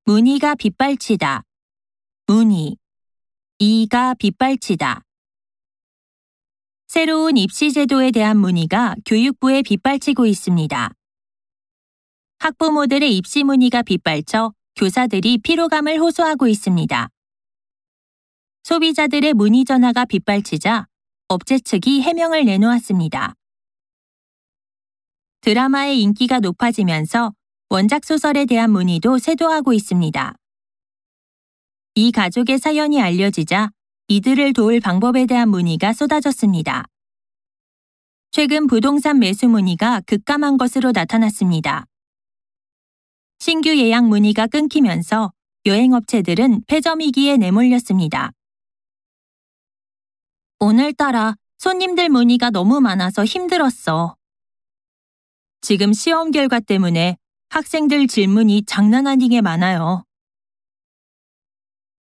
문의가 빗발치다. 문의. 이가 빗발치다. 새로운 입시 제도에 대한 문의가 교육부에 빗발치고 있습니다. 학부모들의 입시 문의가 빗발쳐 교사들이 피로감을 호소하고 있습니다. 소비자들의 문의 전화가 빗발치자 업체 측이 해명을 내놓았습니다. 드라마의 인기가 높아지면서 원작 소설에 대한 문의도 쇄도하고 있습니다. 이 가족의 사연이 알려지자 이들을 도울 방법에 대한 문의가 쏟아졌습니다. 최근 부동산 매수 문의가 급감한 것으로 나타났습니다. 신규 예약 문의가 끊기면서 여행업체들은 폐점 위기에 내몰렸습니다. 오늘따라 손님들 문의가 너무 많아서 힘들었어. 지금 시험 결과 때문에 학생들 질문이 장난 아니게 많아요.